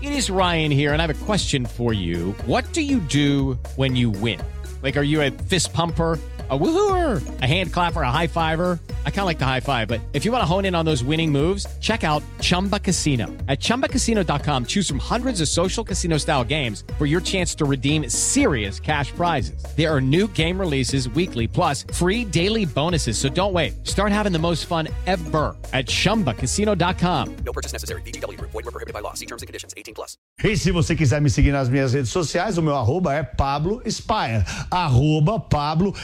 It is Ryan here, and I have a question for you. What do you do when you win? Like, are you a fist pumper, a woohooer, a hand clapper, a high fiver? I kind of like the high five, but if you want to hone in on those winning moves, check out Chumba Casino. At ChumbaCasino.com, choose from hundreds of social casino style games for your chance to redeem serious cash prizes. There are new game releases weekly, plus free daily bonuses. So don't wait. Start having the most fun ever at ChumbaCasino.com. No purchase necessary. VGW Group. Void where prohibited by law. See terms and conditions. 18+. E se você quiser me seguir nas minhas redes sociais, o meu arroba é Pablo Spyer. Pablo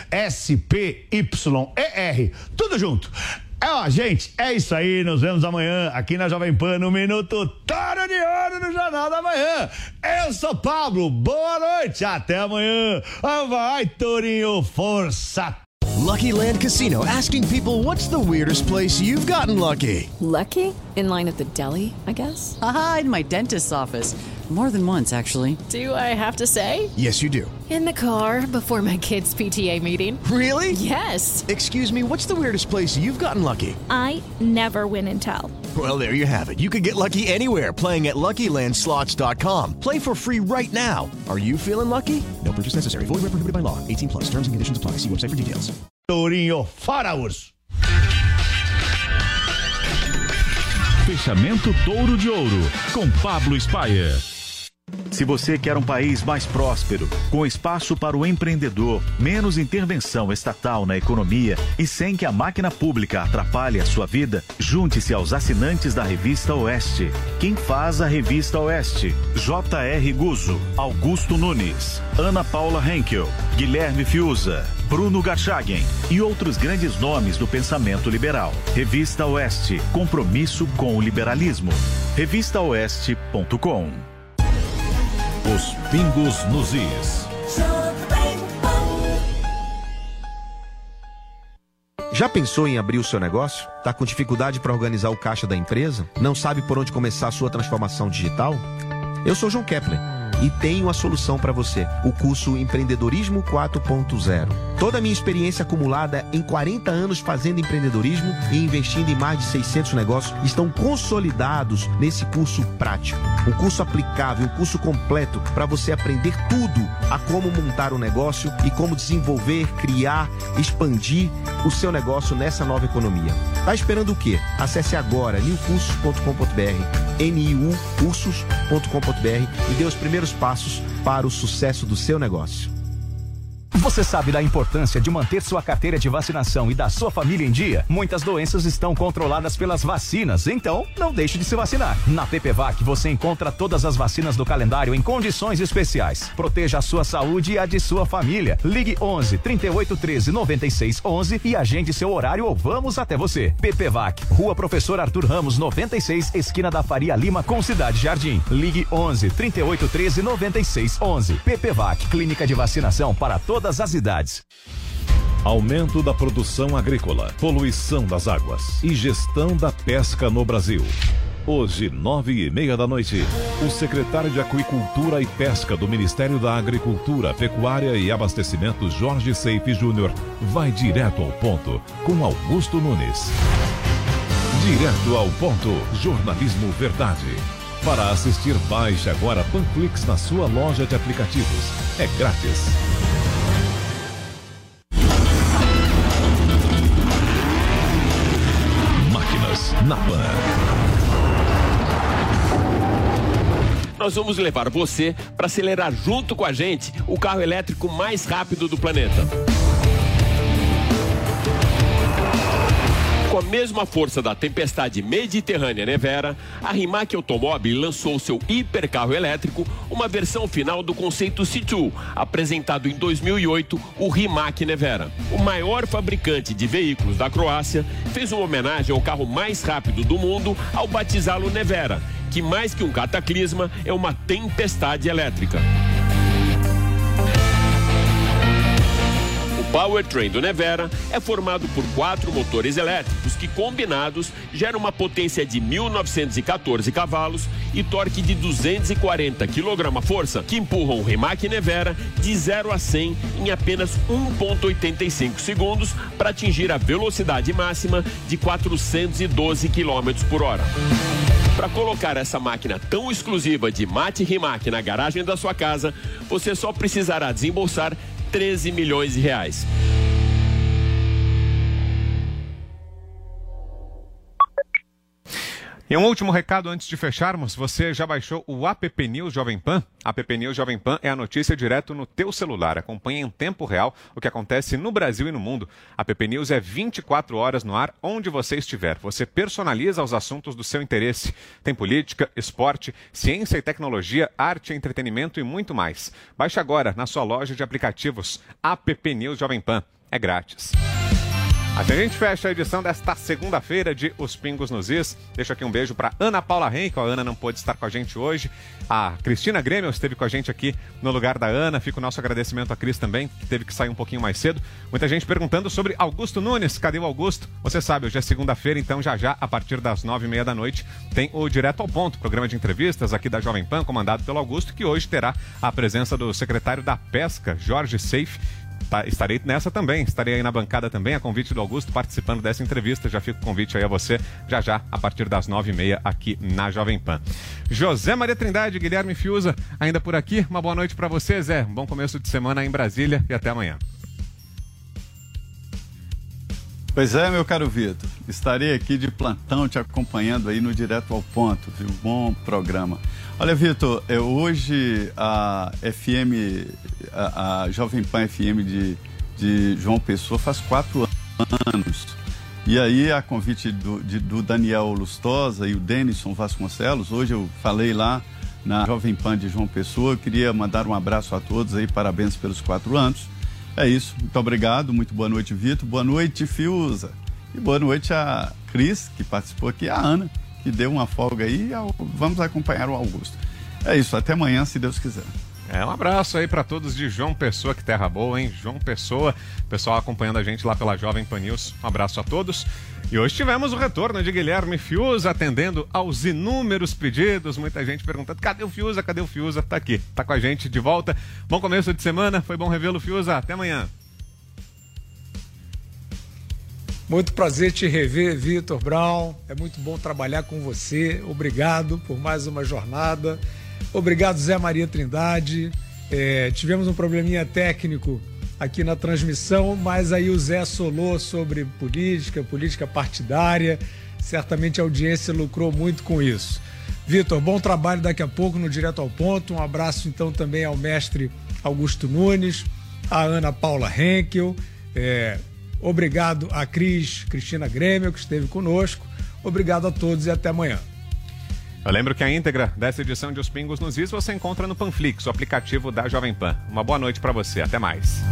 SPYER. Tudo junto. Gente, é isso aí. Nos vemos amanhã aqui na Jovem Pan no Minuto Toro de Ouro no Jornal da Manhã. Eu sou Pablo. Boa noite. Até amanhã. Vai, Torinho. Força. Lucky Land Casino, asking people, what's the weirdest place you've gotten lucky? Lucky? In line at the deli, I guess? Aha, in my dentist's office. More than once, actually. Do I have to say? Yes, you do. In the car before my kids' PTA meeting. Really? Yes. Excuse me, what's the weirdest place you've gotten lucky? I never win and tell. Well, there you have it. You can get lucky anywhere, playing at LuckyLandSlots.com. Play for free right now. Are you feeling lucky? No purchase necessary. Void where prohibited by law. 18+. Terms and conditions apply. See website for details. Torinho, fora urso. Fechamento Touro de Ouro, com Pablo Spyer. Se você quer um país mais próspero, com espaço para o empreendedor, menos intervenção estatal na economia e sem que a máquina pública atrapalhe a sua vida, junte-se aos assinantes da Revista Oeste. Quem faz a Revista Oeste? J.R. Guzzo, Augusto Nunes, Ana Paula Henkel, Guilherme Fiuza, Bruno Garchagen e outros grandes nomes do pensamento liberal. Revista Oeste, compromisso com o liberalismo. revistaoeste.com. Os pingos nos is. Já pensou em abrir o seu negócio? Tá com dificuldade para organizar o caixa da empresa? Não sabe por onde começar a sua transformação digital? Eu sou João Kepler e tenho a solução para você, o curso Empreendedorismo 4.0. Toda a minha experiência acumulada em 40 anos fazendo empreendedorismo e investindo em mais de 600 negócios estão consolidados nesse curso prático. Um curso aplicável, um curso completo para você aprender tudo a como montar um negócio e como desenvolver, criar, expandir o seu negócio nessa nova economia. Tá esperando o quê? Acesse agora niucursos.com.br, niucursos.com.br e dê os primeiros passos para o sucesso do seu negócio. Você sabe da importância de manter sua carteira de vacinação e da sua família em dia? Muitas doenças estão controladas pelas vacinas, então não deixe de se vacinar. Na PPVAC você encontra todas as vacinas do calendário em condições especiais. Proteja a sua saúde e a de sua família. Ligue 11 38 13 96 11 e agende seu horário ou vamos até você. PPVAC, Rua Professor Arthur Ramos 96, esquina da Faria Lima com Cidade Jardim. Ligue 11 38 13 96 11. PPVAC, clínica de vacinação para todas as idades. Aumento da produção agrícola, poluição das águas e gestão da pesca no Brasil. Hoje, 21h30, o secretário de Aquicultura e Pesca do Ministério da Agricultura, Pecuária e Abastecimento, Jorge Seife Júnior, vai direto ao ponto com Augusto Nunes. Direto ao ponto, jornalismo verdade. Para assistir, baixe agora Panflix na sua loja de aplicativos. É grátis. Máquinas na Pan. Nós vamos levar você para acelerar junto com a gente o carro elétrico mais rápido do planeta. Com a mesma força da tempestade mediterrânea Nevera, a Rimac Automobile lançou seu hipercarro elétrico, uma versão final do conceito C2, apresentado em 2008, o Rimac Nevera. O maior fabricante de veículos da Croácia fez uma homenagem ao carro mais rápido do mundo ao batizá-lo Nevera, que mais que um cataclisma é uma tempestade elétrica. O powertrain do Nevera é formado por 4 motores elétricos que, combinados, geram uma potência de 1.914 cavalos e torque de 240 kgf, que empurram o Rimac Nevera de 0 a 100 em apenas 1,85 segundos para atingir a velocidade máxima de 412 km por hora. Para colocar essa máquina tão exclusiva de Mate Rimac na garagem da sua casa, você só precisará desembolsar 13 milhões de reais. E um último recado antes de fecharmos, você já baixou o App News Jovem Pan? App News Jovem Pan é a notícia direto no teu celular. Acompanhe em tempo real o que acontece no Brasil e no mundo. App News é 24 horas no ar, onde você estiver. Você personaliza os assuntos do seu interesse. Tem política, esporte, ciência e tecnologia, arte, entretenimento e muito mais. Baixe agora na sua loja de aplicativos. App News Jovem Pan. É grátis. Assim a gente fecha a edição desta segunda-feira de Os Pingos nos Is. Deixo aqui um beijo para Ana Paula Henkel. A Ana não pôde estar com a gente hoje. A Cristina Grêmio esteve com a gente aqui no lugar da Ana. Fica o nosso agradecimento à Cris também, que teve que sair um pouquinho mais cedo. Muita gente perguntando sobre Augusto Nunes. Cadê o Augusto? Você sabe, hoje é segunda-feira, então já, a partir das 9h30 da noite, tem o Direto ao Ponto, programa de entrevistas aqui da Jovem Pan, comandado pelo Augusto, que hoje terá a presença do secretário da Pesca, Jorge Seife. Estarei nessa também, estarei aí na bancada também, a convite do Augusto, participando dessa entrevista. Já fica o convite aí a você, já, a partir das 9h30 aqui na Jovem Pan. José Maria Trindade, Guilherme Fiuza, ainda por aqui. Uma boa noite para você, Zé. Um bom começo de semana em Brasília e até amanhã. Pois é, meu caro Vitor. Estarei aqui de plantão te acompanhando aí no Direto ao Ponto, viu? Bom programa. Olha, Vitor, hoje a Jovem Pan FM de João Pessoa faz 4 anos. E aí, a convite do Daniel Lustosa e o Denison Vasconcelos, hoje eu falei lá na Jovem Pan de João Pessoa, eu queria mandar um abraço a todos aí, parabéns pelos 4 anos. É isso, muito obrigado, muito boa noite, Vitor, boa noite, Fiuza, e boa noite a Cris, que participou aqui, a Ana, que deu uma folga aí, vamos acompanhar o Augusto. É isso, até amanhã, se Deus quiser. Um abraço aí para todos de João Pessoa, que terra boa, hein? João Pessoa, pessoal acompanhando a gente lá pela Jovem Pan News. Um abraço a todos. E hoje tivemos o retorno de Guilherme Fiuza, atendendo aos inúmeros pedidos. Muita gente perguntando, cadê o Fiuza? Cadê o Fiuza? Tá aqui, tá com a gente de volta. Bom começo de semana, foi bom revê-lo, Fiuza. Até amanhã. Muito prazer te rever, Vitor Brown. É muito bom trabalhar com você. Obrigado por mais uma jornada. Obrigado, Zé Maria Trindade. Tivemos um probleminha técnico aqui na transmissão, mas aí o Zé solou sobre política partidária. Certamente a audiência lucrou muito com isso. Vitor, bom trabalho daqui a pouco no Direto ao Ponto. Um abraço então também ao mestre Augusto Nunes, a Ana Paula Henkel. Obrigado a Cristina Grêmio, que esteve conosco. Obrigado a todos e até amanhã. Eu lembro que a íntegra dessa edição de Os Pingos nos Is você encontra no Panflix, o aplicativo da Jovem Pan. Uma boa noite para você, até mais.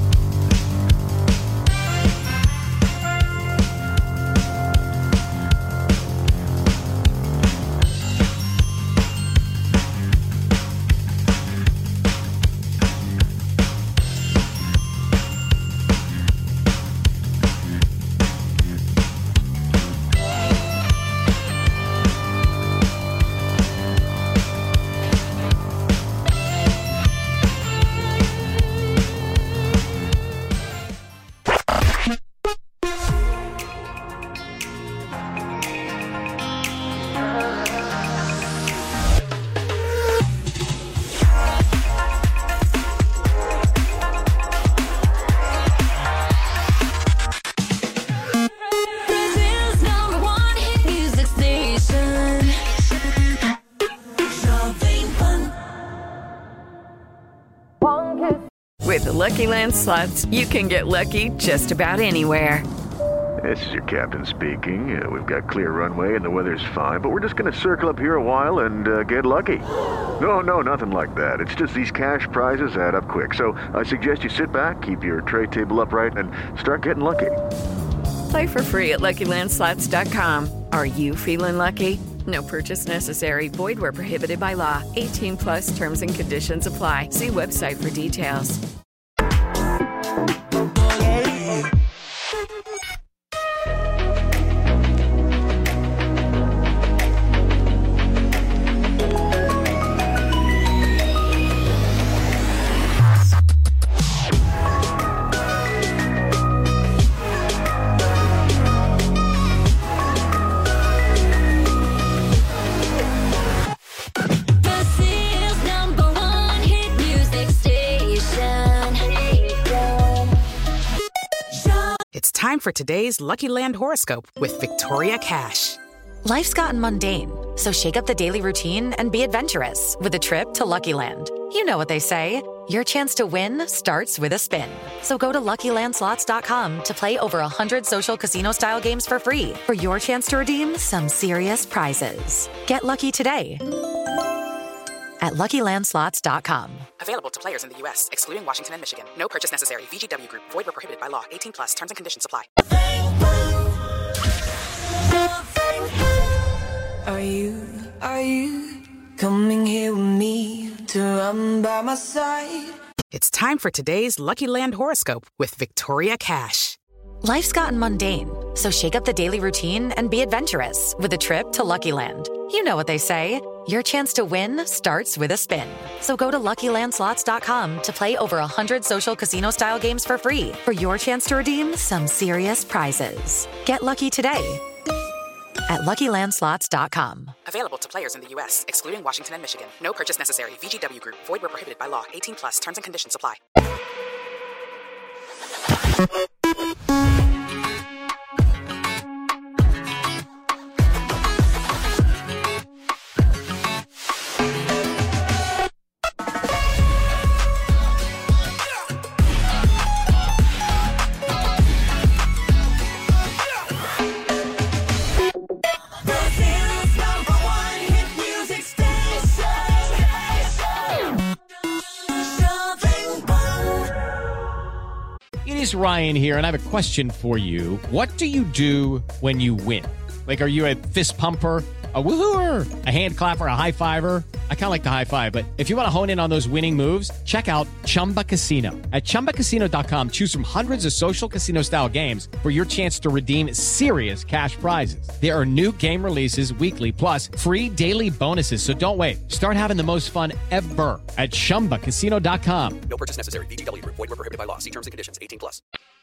With the Lucky Land Slots, you can get lucky just about anywhere. This is your captain speaking. We've got clear runway and the weather's fine, but we're just going to circle up here a while and get lucky. No, nothing like that. It's just these cash prizes add up quick. So I suggest you sit back, keep your tray table upright, and start getting lucky. Play for free at LuckyLandSlots.com. Are you feeling lucky? No purchase necessary. Void where prohibited by law. 18 plus terms and conditions apply. See website for details. time for today's Lucky Land horoscope with Victoria Cash. Life's gotten mundane, so shake up the daily routine and be adventurous with a trip to Lucky Land. You know what they say, your chance to win starts with a spin. So go to LuckyLandSlots.com to play over 100 social casino-style games for free for your chance to redeem some serious prizes. Get lucky today at LuckyLandSlots.com. Available to players in the U.S., excluding Washington and Michigan. No purchase necessary. VGW Group. Void where prohibited by law. 18+. Terms and conditions apply. Are you coming here with me to run by my side? It's time for today's Lucky Land horoscope with Victoria Cash. Life's gotten mundane, so shake up the daily routine and be adventurous with a trip to Lucky Land. You know what they say, your chance to win starts with a spin. So go to LuckyLandSlots.com to play over 100 social casino-style games for free for your chance to redeem some serious prizes. Get lucky today at LuckyLandSlots.com. Available to players in the U.S., excluding Washington and Michigan. No purchase necessary. VGW Group. Void where prohibited by law. 18+. Terms and conditions apply. It is Ryan here, and I have a question for you. What do you do when you win? Like, are you a fist pumper, a woohooer, a hand clapper, a high fiver? I kind of like the high five, but if you want to hone in on those winning moves, check out Chumba Casino. At ChumbaCasino.com, choose from hundreds of social casino-style games for your chance to redeem serious cash prizes. There are new game releases weekly, plus free daily bonuses. So don't wait. Start having the most fun ever at ChumbaCasino.com. No purchase necessary. VGW Group. Void where prohibited by law. See terms and conditions. 18+.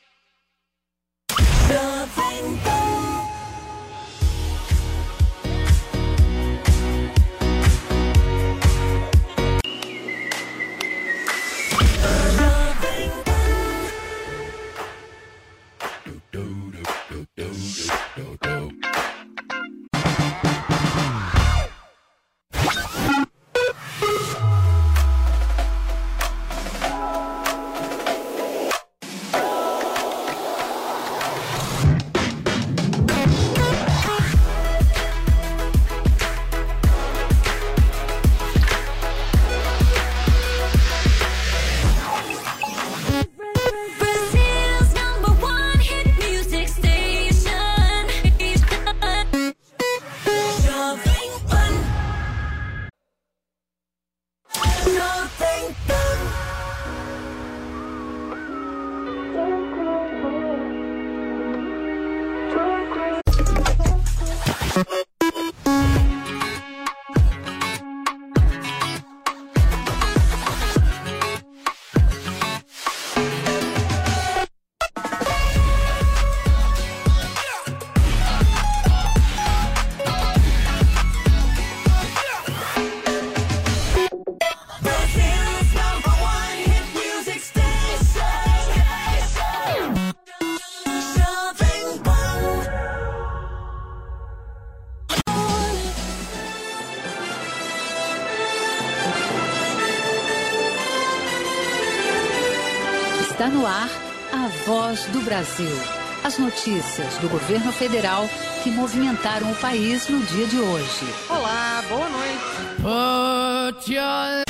Está no ar a Voz do Brasil. As notícias do governo federal que movimentaram o país no dia de hoje. Olá, boa noite. Put your...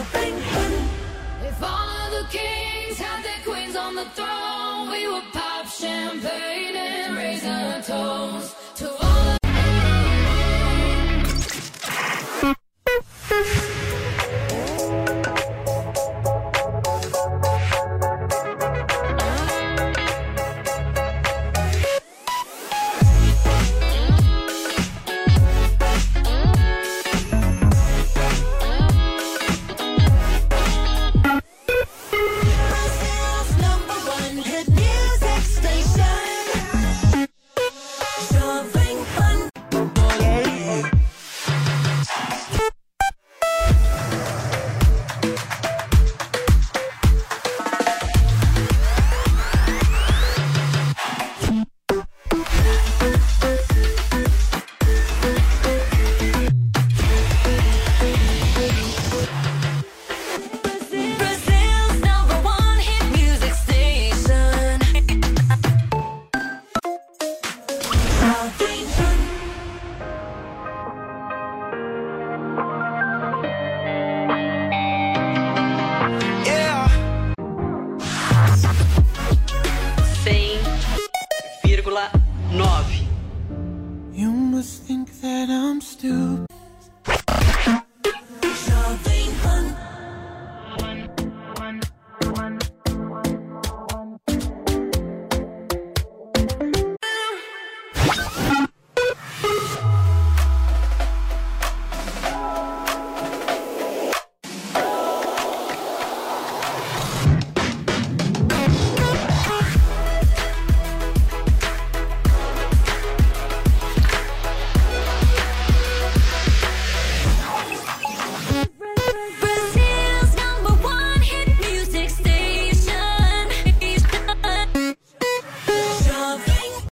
If all of the kings had their queens on the throne, we would pop champagne and raise our toast.